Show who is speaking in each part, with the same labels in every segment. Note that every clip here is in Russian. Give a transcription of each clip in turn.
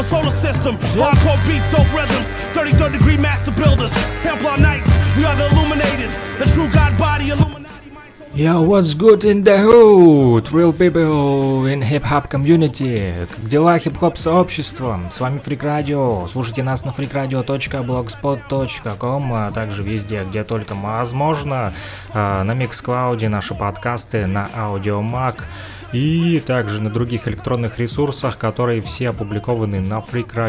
Speaker 1: solar system. Hardcore beats, dope rhythms. 33rd degree master builders. Templar Knights, we are the illuminated. The true God body illuminated.
Speaker 2: Yo, what's good in the hood? Real people in hip-hop community. Как дела, хип-хоп сообщества? С вами Freak Radio. Слушайте нас на freakradio.blogspot.com, а также везде, где только возможно. На Mixcloud наши подкасты, на Audiomack и также на других электронных ресурсах, которые все опубликованы на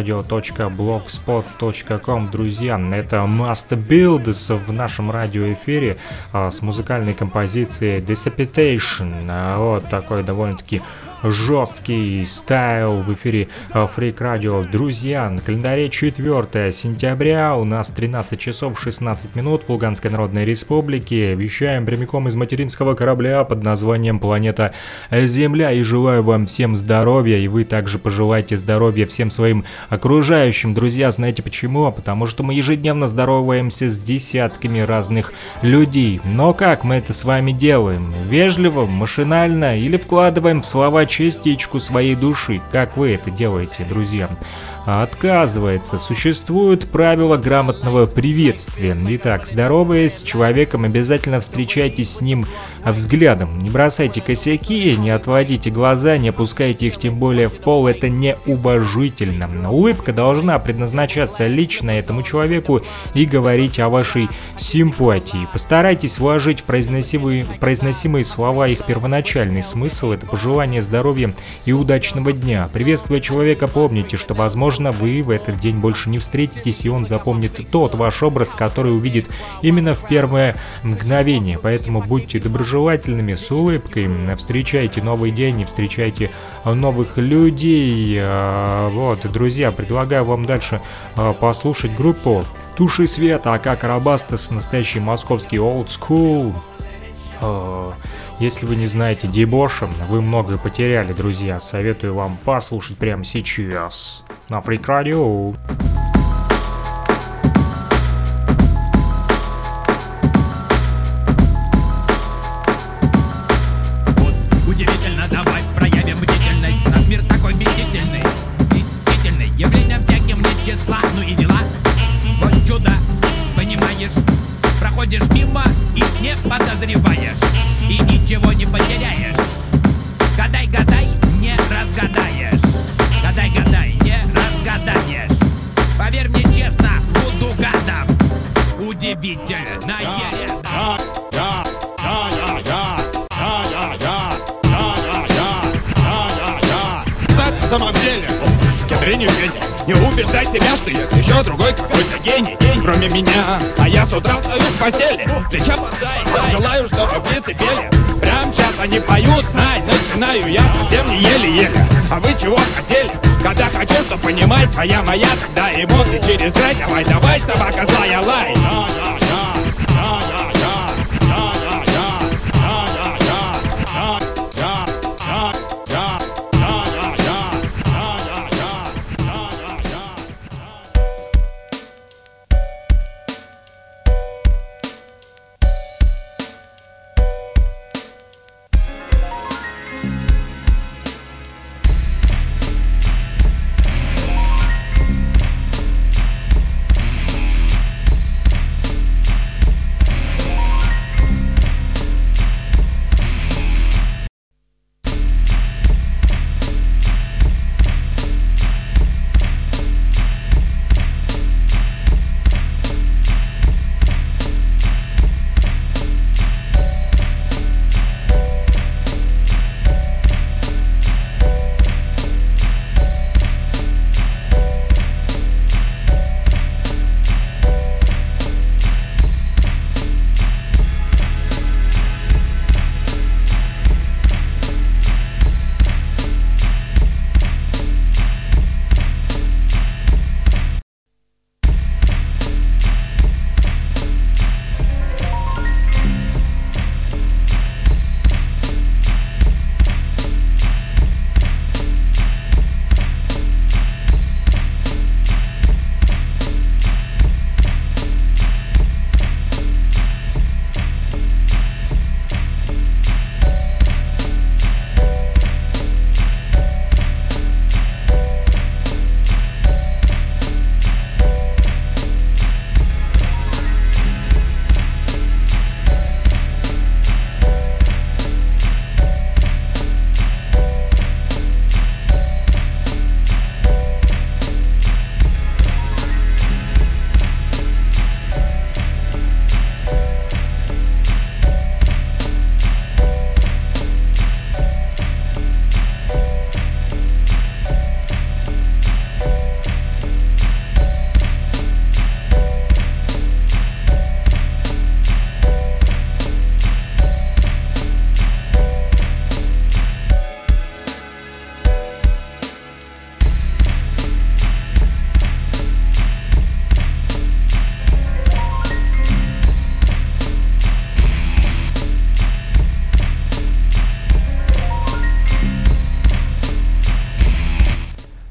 Speaker 2: freakradio.blogspot.com. Друзья, это Master Builders в нашем радиоэфире с музыкальной композицией Dissipation. Вот такой довольно-таки жесткий стайл в эфире Freak Radio. Друзья, на календаре 4 сентября, у нас 13 часов 16 минут в Луганской Народной Республике. Вещаем прямиком из материнского корабля под названием «Планета Земля». И желаю вам всем здоровья, и вы также пожелайте здоровья всем своим окружающим. Друзья, знаете почему? Потому что мы ежедневно здороваемся с десятками разных людей. Но как мы это с вами делаем? Вежливо, машинально или вкладываем в слова частичку своей души, как вы это делаете, друзья? Отказывается. Существуют правила грамотного приветствия. Итак, здороваясь с человеком, обязательно встречайтесь с ним взглядом. Не бросайте косяки, не отводите глаза, не опускайте их тем более в пол. Это неуважительно. Улыбка должна предназначаться лично этому человеку и говорить о вашей симпатии. Постарайтесь вложить в произносимые слова их первоначальный смысл. Это пожелание здоровья и удачного дня. Приветствуя человека, помните, что, возможно, вы в этот день больше не встретитесь, и он запомнит тот ваш образ, который увидит именно в первое мгновение. Поэтому будьте доброжелательными, с улыбкой, встречайте новый день и встречайте новых людей. Вот, друзья, предлагаю вам дальше послушать группу Туши Света, АК Карабастас, настоящий московский old school. Если вы не знаете дебоша, вы многое потеряли, друзья. Советую вам послушать прямо сейчас на Freak Radio.
Speaker 3: Вот удивительно, давай проявим бдительность. Наш мир такой бдительный, действительный. Явлением всяким нет числа, ну и дела. Вот чудо, понимаешь? Проходишь мимо и не подозреваешь, и ничего не потеряешь. Гадай, гадай, не разгадаешь. Гадай, гадай, не разгадаешь. Поверь мне честно, буду гадом. Удивительное.
Speaker 4: Так, на самом деле, кедренью не убеждай себя, что есть еще другой какой-то гений, кроме меня. А я с утра встаю в постели, плеча подай, желаю, чтобы птицы пели. Прям сейчас они поют, знай, начинаю я совсем не еле-еле. А вы чего хотели? Когда хочу, что понимать, твоя моя, тогда эмоции через край. Давай, давай, собака злая, лай.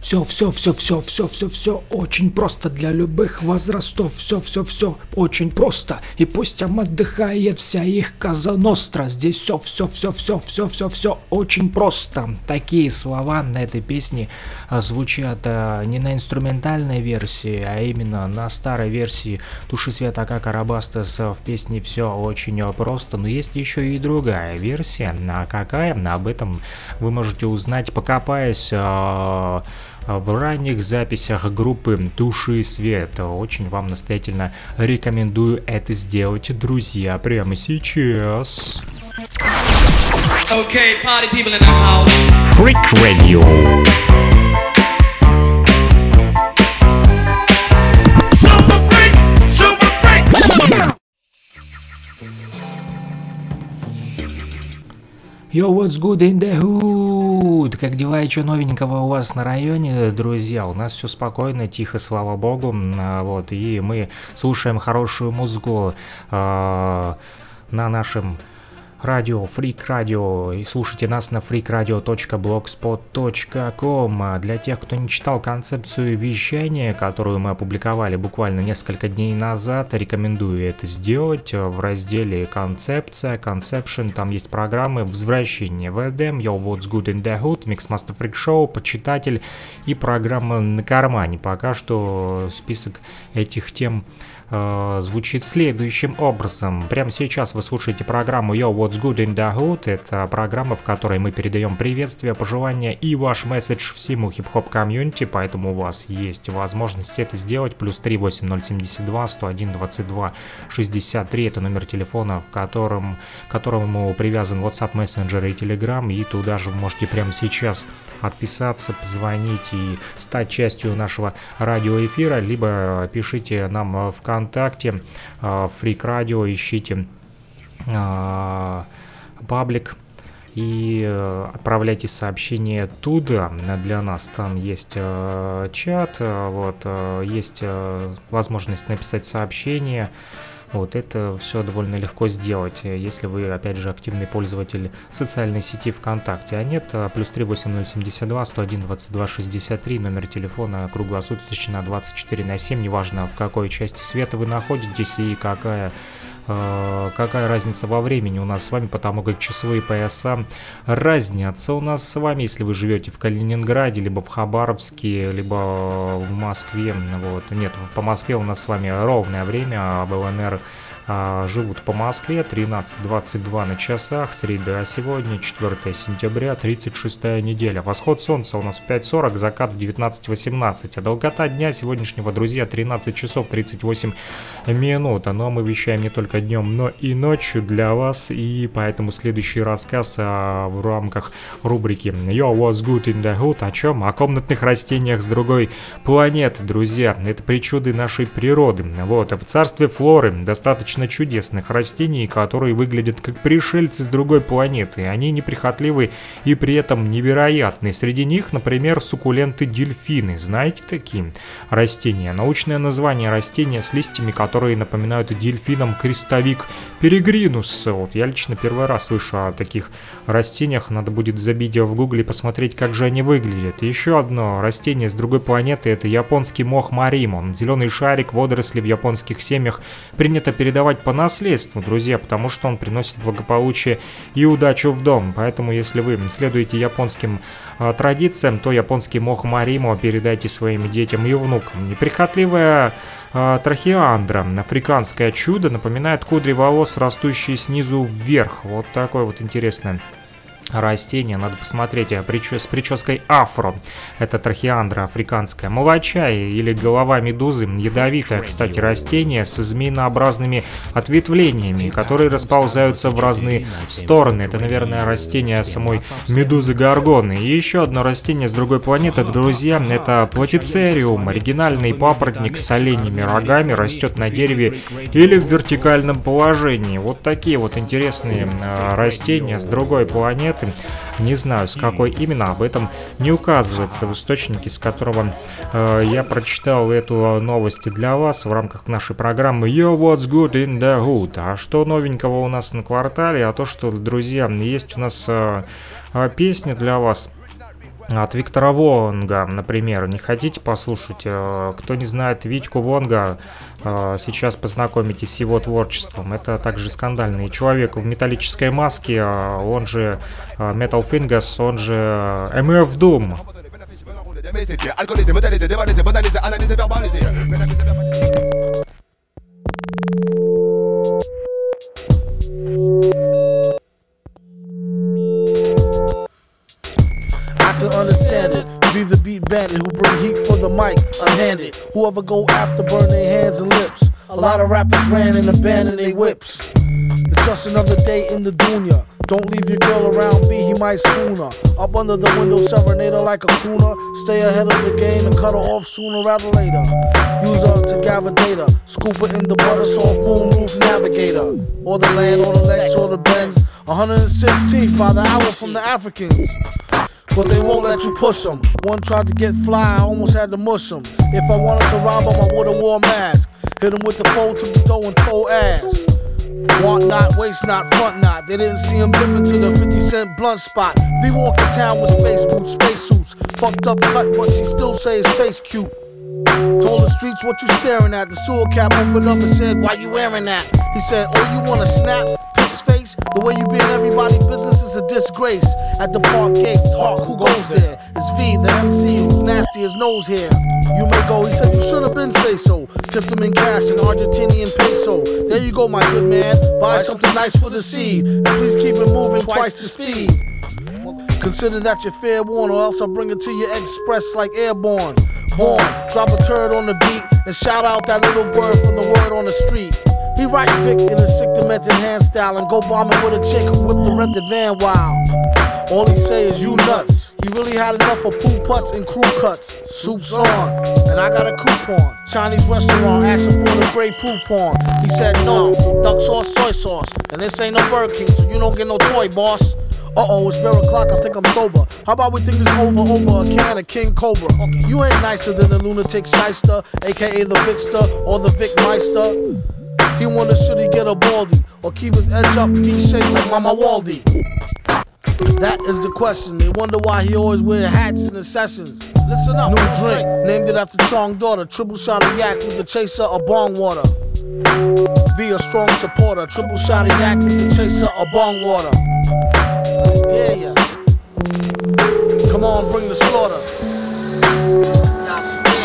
Speaker 5: Все очень просто для любых возрастов. Все очень просто. И пусть там отдыхает вся их Коза Ностра. Здесь все очень просто. Такие слова на этой песне звучат не на инструментальной версии, а именно на старой версии Души Света Акака Рабастес в песне «Все очень просто». Но есть еще и другая версия. А какая? Об этом вы можете узнать, покопаясь в ранних записях группы Души Свет. Очень вам настоятельно рекомендую это сделать, друзья, прямо сейчас.
Speaker 6: Okay, party people in the house.
Speaker 2: Freak Radio.
Speaker 1: Super freak, super freak.
Speaker 5: Yo, what's good in the hood? Как дела и что новенького у вас на районе, друзья? У нас все спокойно, тихо, слава богу. Вот, и мы слушаем хорошую музыку на нашем радио, Freak Radio, и слушайте нас на freakradio.blogspot.com. Для тех, кто не читал концепцию вещания, которую мы опубликовали буквально несколько дней назад, рекомендую это сделать. В разделе «Концепция», «Conception», там есть программы «Возвращение в Эдем», «Yo, what's good in the hood», «Mixmaster Freak Show», «Почитатель» и программа «На кармане». Пока что список этих тем звучит следующим образом. Прямо сейчас вы слушаете программу Yo, What's Good in the Hood. Это программа, в которой мы передаем приветствия, пожелания и ваш месседж всему хип-хоп комьюнити, поэтому у вас есть возможность это сделать. Плюс 3 8072 101 22 63. Это номер телефона, к которому привязан WhatsApp, Messenger и Telegram. И туда же вы можете прямо сейчас отписаться, позвонить и стать частью нашего радиоэфира, либо пишите нам в ВКонтакте, Freak Radio, ищите паблик и отправляйте сообщения туда для нас. Там есть чат, вот, есть возможность написать сообщение. Вот это все довольно легко сделать, если вы, опять же, активный пользователь социальной сети ВКонтакте. А нет, плюс 3 8072 101 22 63, номер телефона круглосуточно 24/7, неважно в какой части света вы находитесь и какая разница во времени у нас с вами, потому как часовые пояса разнятся у нас с вами, если вы живете в Калининграде, либо в Хабаровске, либо в Москве. Вот. Нет, по Москве у нас с вами ровное время, а в ЛНР живут по Москве 13:22 на часах, среда сегодня, 4 сентября, 36-я неделя. Восход солнца у нас в 5:40, закат в 19:18, а долгота дня сегодняшнего, друзья, 13 часов 38 минут. Но мы вещаем не только днем, но и ночью для вас, и поэтому следующий рассказ в рамках рубрики Yo, what's good in the hood? О чем? О комнатных растениях с другой планеты, друзья. Это причуды нашей природы. Вот, в царстве флоры достаточно чудесных растений, которые выглядят как пришельцы с другой планеты. Они неприхотливы и при этом невероятны. Среди них, например, суккуленты-дельфины. Знаете такие растения? Научное название растения с листьями, которые напоминают дельфинам крестовик перегринус. Вот, я лично первый раз слышу о таких растениях. Надо будет забить в гугле и посмотреть, как же они выглядят. Еще одно растение с другой планеты — это японский мох маримо. Зеленый шарик, водоросли в японских семьях принято передавать по наследству, друзья, потому что он приносит благополучие и удачу в дом. Поэтому, если вы следуете японским традициям, то японский мох маримо передайте своим детям и внукам. Неприхотливая трахеандра, африканское чудо, напоминает кудри волос, растущие снизу вверх. Вот такое вот интересное растение, надо посмотреть, с прической афро. Это трахеандра африканская. Молочай или голова медузы, ядовитое, кстати, растение с змеинообразными ответвлениями, которые расползаются в разные стороны. Это, наверное, растение самой медузы горгоны. И еще одно растение с другой планеты, друзья, это платицериум, оригинальный папоротник с оленьими рогами, растет на дереве или в вертикальном положении. Вот такие вот интересные растения с другой планеты. Не знаю, с какой именно, об этом не указывается в источнике, с которого я прочитал эту новость для вас в рамках нашей программы Yo, what's good in the hood? А что новенького у нас на квартале? А то, что, друзья, есть у нас песня для вас.
Speaker 2: от Виктора Вонга, например. Не хотите послушать? Кто не знает Витьку Вонга, сейчас познакомитесь с его творчеством. Это также скандальный человек в металлической маске, он же Metal Fingers, он же MF Doom.
Speaker 6: Understand it, be the beat bandit who bring heat for the mic, unhanded. Whoever go after burn their hands and lips. A lot of rappers ran and abandoned their whips. It's just another day in the dunya. Don't leave your girl around B, he might sooner. Up under the window, serenade her like a crooner. Stay ahead of the game and cut her off sooner rather later. Use her to gather data. Scoop her in the butter, soft moonroof navigator. Or the land, or the Lex, or the Benz. 116th by the hour from the Africans. But they won't let you push them. One tried to get fly, I almost had to mush him. If I wanted to rob him, I would've wore a mask. Hit him with the fold to the dough and toe ass. Want not, waste not, front not. They didn't see him dip into the 50-cent blunt spot. V walk in town with space boots, spacesuits. Fucked up cut, but she still say his face cute. Told the streets what you staring at. The sewer cap opened up and said, why you wearing that? He said, oh, you wanna snap? Piss face? The way you be in everybody's business is a disgrace. At the park gates, Hawk, who goes there? It's V, the MC, who's nasty as nose hair. You may go, he said you should have been say so. Tipped him in cash in Argentinian peso. There you go, my good man. Buy something nice for the seed. And please keep it moving twice the speed. Consider that you're fair warned, or else I'll bring it to you express like airborne. Vaughn, drop a turd on the beat and shout out that little word from the word on the street. He write Vic in a sick demented hand style and go bombing with a chick who whipped the rented van wild. All he say is you nuts. He really had enough of poo putts and crew cuts. Soup's on, and I got a coupon. Chinese restaurant asking for the Grey Poupon. He said no, duck sauce, soy sauce. And this ain't no Burger King, so you don't get no toy, boss. Uh-oh, it's 12 o'clock, I think I'm sober. How about we think this over a can of King Cobra? You ain't nicer than the lunatic shyster, aka the Vicster or the Vic Meister. He wonder should he get a baldy or keep his edge up, V-shaped like Mama Waldy. That is the question. They wonder why he always wear hats in the sessions. Listen up. New drink, named it after Chong daughter. Triple shot of yak with the chaser of bong water. Be a strong supporter. Triple shot of yak with the chaser of bong water. Dare ya. Come on, bring the slaughter. Not scared.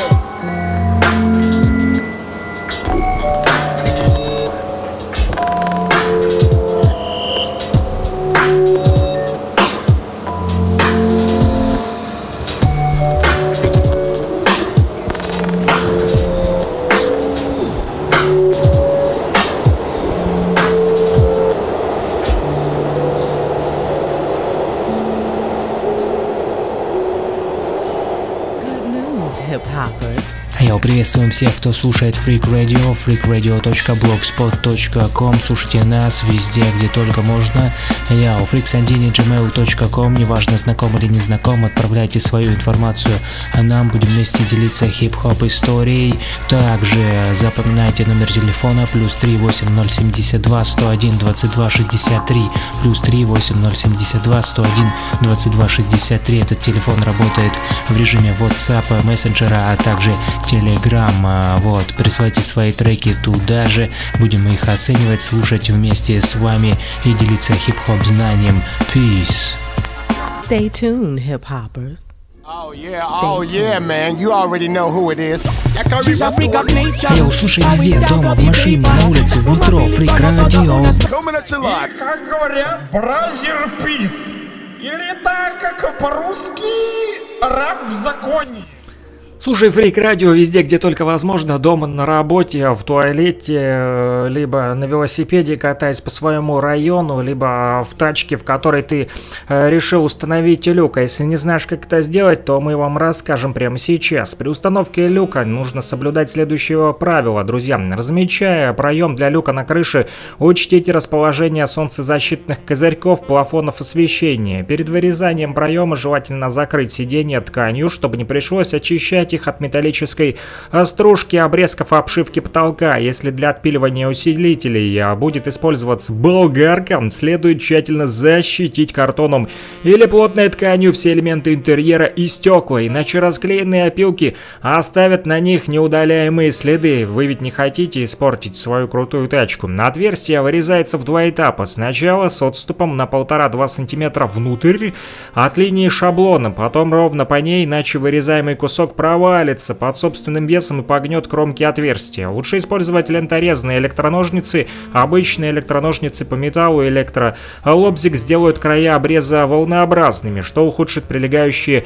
Speaker 7: Приветствуем всех, кто слушает Freak Radio, freakradio.blogspot.com. Слушайте нас везде, где только можно. Я у freaksandini@gmail.com. Неважно, знаком или не знаком, отправляйте свою информацию, а нам будем вместе делиться хип-хоп историей. Также запоминайте номер телефона +3 8072 101 22 63 +3 8072 101 22 63. Этот телефон работает в режиме WhatsApp, мессенджера, а также Telegram. Вот, присылайте свои треки туда же, будем их оценивать, слушать вместе с вами и делиться хип-хоп знанием. Peace.
Speaker 8: Stay tuned, hip-hoppers.
Speaker 9: Oh yeah, man, you already know who it is.
Speaker 7: Я услышаю везде, дома, в машине, на улице, в метро, Freak Radio.
Speaker 10: И, как говорят, бразер пис. Или так, как по-русски, рэп в законе.
Speaker 2: Слушай Freak Radio везде, где только возможно, дома, на работе, в туалете, либо на велосипеде катаясь по своему району, либо в тачке, в которой ты решил установить люк. А если не знаешь, как это сделать, то мы вам расскажем прямо сейчас. При установке люка нужно соблюдать следующее правило, друзья. Размечая проем для люка на крыше, учтите расположение солнцезащитных козырьков, плафонов освещения. Перед вырезанием проема желательно закрыть сиденье тканью, чтобы не пришлось очищать защищать их от металлической стружки, обрезков обшивки потолка. Если для отпиливания усилителей будет использоваться болгарка, следует тщательно защитить картоном или плотной тканью все элементы интерьера и стекла, иначе расклеенные опилки оставят на них неудаляемые следы. Вы ведь не хотите испортить свою крутую тачку. Отверстие вырезается в 2 этапа. Сначала с отступом на 1,5-2 см внутрь от линии шаблона, потом ровно по ней, иначе вырезаемый кусок провалится под собственным весом и погнет кромки отверстия. Лучше использовать ленторезные электроножницы. Обычные электроножницы по металлу электролобзик сделают края обреза волнообразными, что ухудшит прилегание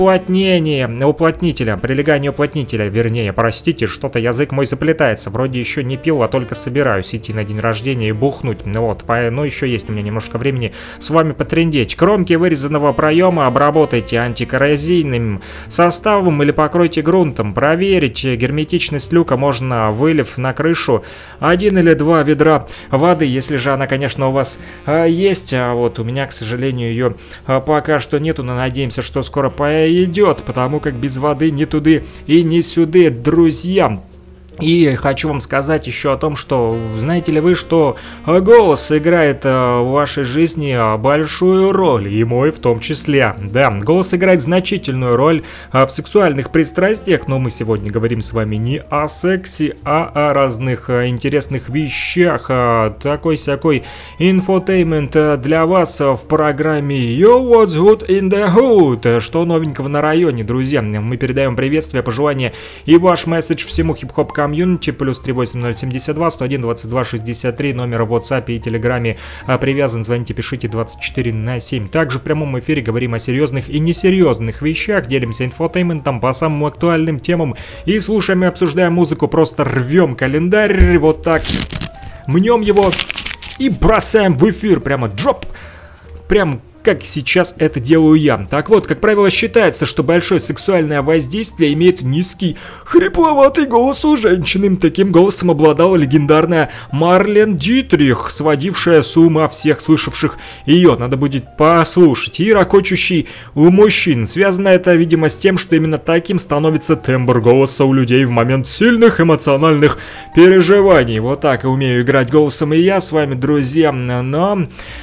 Speaker 2: уплотнителя, вернее, простите, что-то язык мой заплетается, вроде еще не пил, а только собираюсь идти на день рождения и бухнуть, вот, но еще есть у меня немножко времени с вами потрындеть. Кромки вырезанного проема обработайте антикоррозийным составом или покройте грунтом. Проверить герметичность люка можно, вылив на крышу 1 или 2 ведра воды, если же она, конечно, у вас есть, а вот у меня, к сожалению, ее пока что нету, но надеемся, что скоро пойдет, потому как без воды ни туды и ни сюды, друзья. И хочу вам сказать еще о том, что знаете ли вы, что голос играет в вашей жизни большую роль, и мой в том числе. Да, голос играет значительную роль в сексуальных пристрастиях, но мы сегодня говорим с вами не о сексе, а о разных интересных вещах. Такой-сякой инфотеймент для вас в программе Yo, what's good in the hood? Что новенького на районе, друзья? Мы передаем приветствия, пожелания и ваш месседж всему хип-хоп комьюнити, плюс 38072 101 22 63, номер в WhatsApp и Телеграме привязан, звоните, пишите 24/7. Также в прямом эфире говорим о серьезных и несерьезных вещах, делимся инфотейментом по самым актуальным темам и слушаем и обсуждаем музыку, просто рвем календарь, вот так, мнем его и бросаем в эфир, прямо дроп, прям как сейчас это делаю я. Так вот, как правило, считается, что большое сексуальное воздействие имеет низкий, хрипловатый голос у женщины. Таким голосом обладала легендарная Марлен Дитрих, сводившая с ума всех слышавших ее. Надо будет послушать. И ракочущий у мужчин. Связано это, видимо, с тем, что именно таким становится тембр голоса у людей в момент сильных эмоциональных переживаний. Вот так и умею играть голосом и я с вами, друзья. Но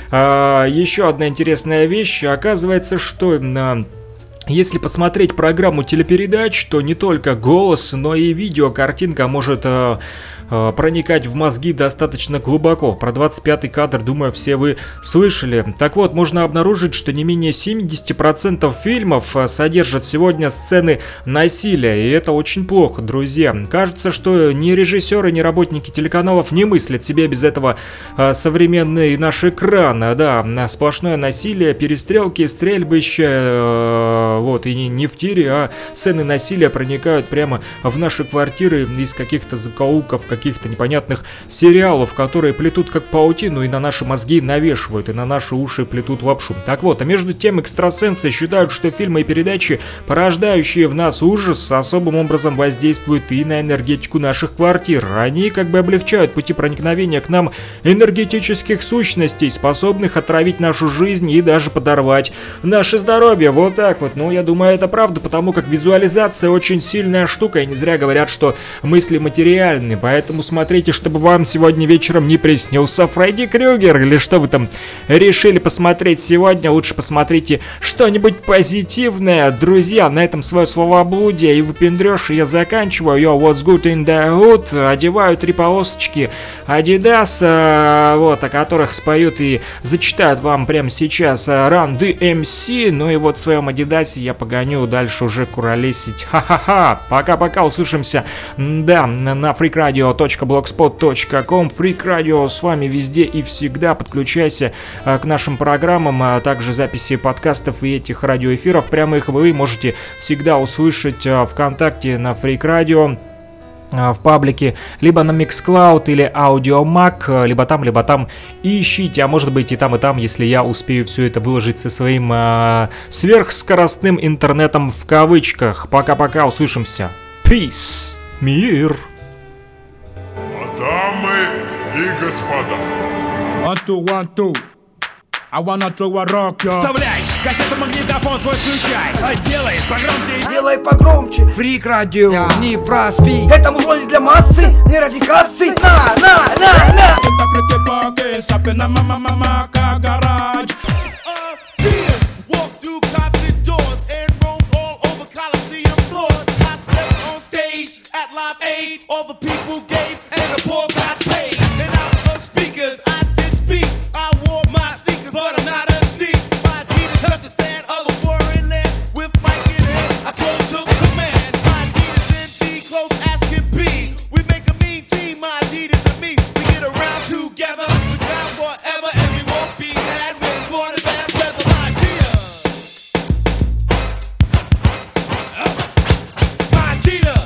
Speaker 2: еще одна интересная вещь. Оказывается, что если посмотреть программу телепередач, то не только голос, но и видео, картинка может проникать в мозги достаточно глубоко. Про 25-й кадр, думаю, все вы слышали. Так вот, можно обнаружить, что не менее 70% фильмов содержат сегодня сцены насилия, и это очень плохо, друзья. Кажется, что ни режиссеры, ни работники телеканалов не мыслят себе без этого современный наш экран. Да, сплошное насилие, перестрелки, стрельбища, вот, и не в тире, а сцены насилия проникают прямо в наши квартиры из каких-то закоулков, каких-то непонятных сериалов, которые плетут как паутину и на наши мозги навешивают, и на наши уши плетут лапшу. Так вот, а между тем экстрасенсы считают, что фильмы и передачи, порождающие в нас ужас, особым образом воздействуют и на энергетику наших квартир. Они как бы облегчают пути проникновения к нам энергетических сущностей, способных отравить нашу жизнь и даже подорвать наше здоровье. Вот так вот. Ну, я думаю, это правда, потому как визуализация очень сильная штука, и не зря говорят, что мысли материальны. Поэтому смотрите, чтобы вам сегодня вечером не приснился Фредди Крюгер, или что вы там решили посмотреть сегодня. Лучше посмотрите что-нибудь позитивное. Друзья, на этом свое словоблудие и выпендрёж я заканчиваю. Yo, what's good in the hood? Одеваю 3 полосочки Adidas, вот, о которых споют и зачитают вам прямо сейчас Run DMC. Ну и вот в своем Адидасе я погоню дальше уже куролесить. Ха-ха-ха. Пока-пока, услышимся. Да, на freakradio.blogspot.com. Freak Radio с вами везде и всегда. Подключайся к нашим программам, а также записи подкастов и этих радиоэфиров прямых вы можете всегда услышать ВКонтакте на Freak Radio, в паблике, либо на Mixcloud или Audiomack, либо там ищите, а может быть и там, если я успею все это выложить со своим сверхскоростным интернетом в кавычках. Пока-пока, услышимся. Peace. Мир.
Speaker 11: Дамы и господа.
Speaker 3: 1, 2, 1, 2. I wanna throw a rock, yo.
Speaker 1: Вставляй кассету магнитофон твой включай. Делай погромче.
Speaker 11: Делай погромче.
Speaker 12: Фрик радио, не проспи.
Speaker 11: Это музло не для массы, не ради кассы. На.
Speaker 1: Это фрики поки, сапи на мама-мама-ка гараж. Walk through concert doors and roam all over Coliseum floors. I stepped on stage at Live Aid. All the people gave and the poor got paid. And out of speakers, I did speak. I wore my sneakers, but I'm not a sneak. My Adidas touched the sand of a foreign land. With mic in hand, I close took command. My Adidas indeed close as can be. We make a mean team, my Adidas and me. We get around together, we're down forever, and we won't be mad when it's born in bad weather. My Adidas. My Adidas.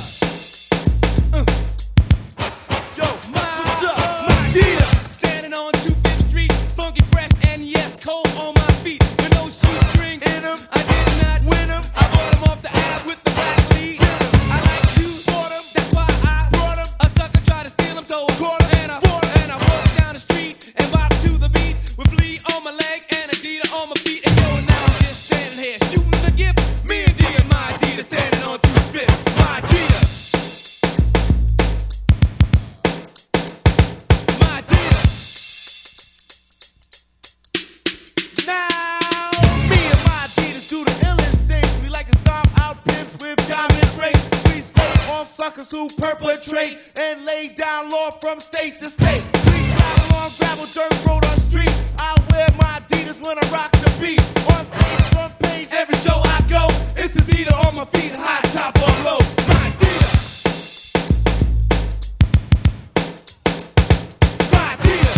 Speaker 1: Yo, what's up? My Adidas. Standing on 25th Street, funky, fresh, and yes, cold on my feet. With no shoestring in them, I did not win them. I bought them off the app with the black lead. I like to bought them, that's why I brought them. A sucker tried to steal them, so I caught them. And I walked down the street and bopped to the beat with Flea on my leg and Adidas on my feet. And yo, now I'm just standing here shooting the gift. Me and D and my Adidas standing on 25th. My Adidas. My Adidas. Now, me and my Adidas do the illest things. We like to stomp out pimps with diamond rings. We slay on suckers who perpetrate and lay down law from state to state. We travel on gravel, dirt road, or street. I wear my Adidas when I rock the beat. On stage, front page, every show I go. It's Adidas on my feet, high top or low. My Adidas. My Adidas.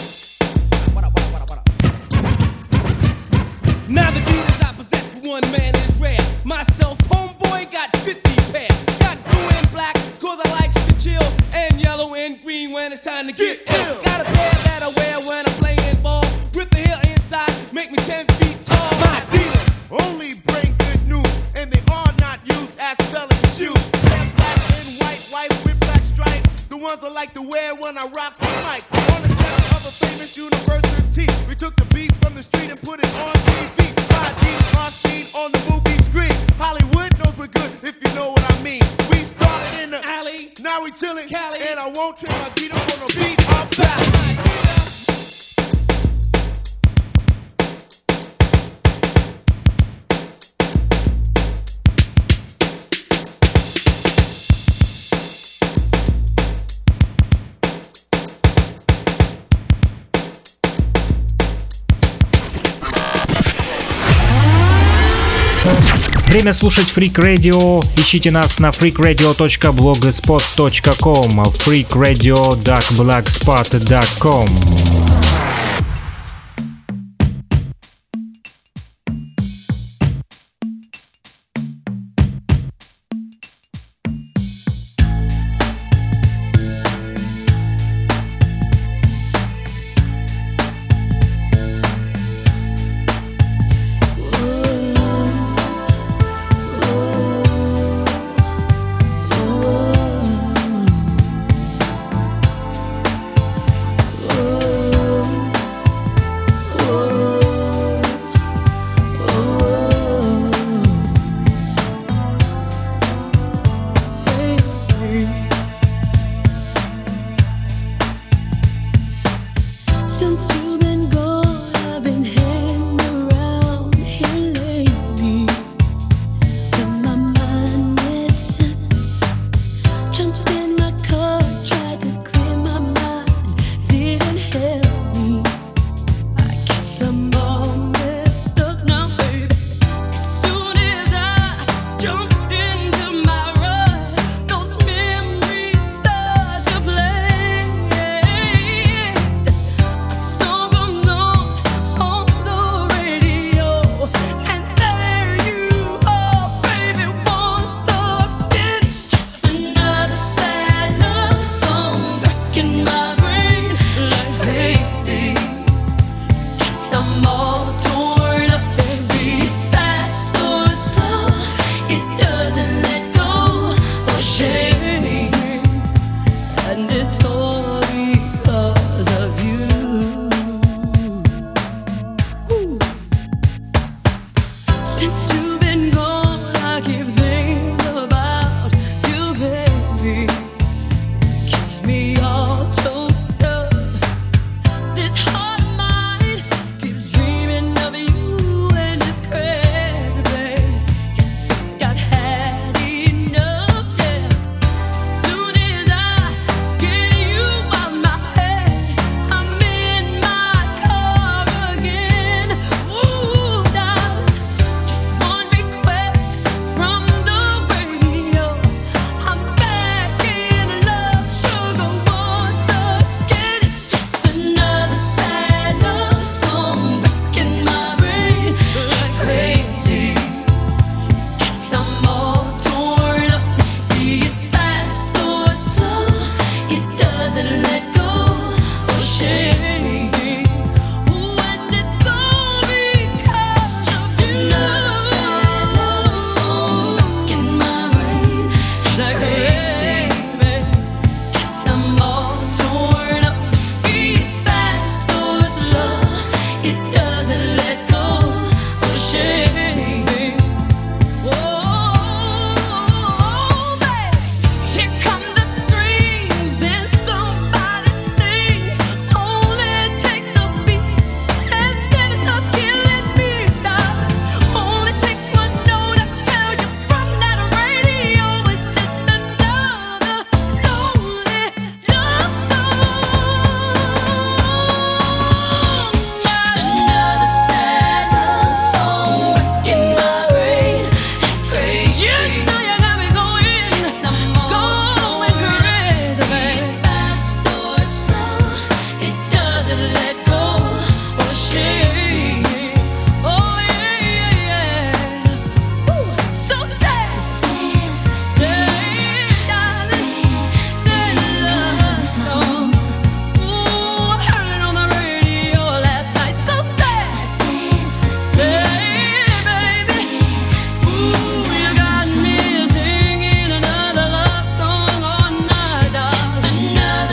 Speaker 1: Now the Adidas I possess for one man is rare. Myself, homeboy, got 50 pair. Got blue and black, cause I like to chill. And yellow and green when it's time to get ill. Got a pair that I wear when I'm playing ball. With the heel inside, make me 10 feet tall. My Adidas only bring good news, and they are not used as selling shoes. They're black and white with black stripes. The ones I like to wear when I rock the mic. On the step of a famous university, we took the beat from the street and put it on TV. My Adidas are seen on the movie screen. Hollywood knows we're good, if you know what I mean. We started in the alley, now we chillin', Cali, and I won't trade my Adidas for no beat or battle.
Speaker 2: Время слушать Freak Radio. Ищите нас на freakradio.blogspot.com, freakradio.blogspot.com.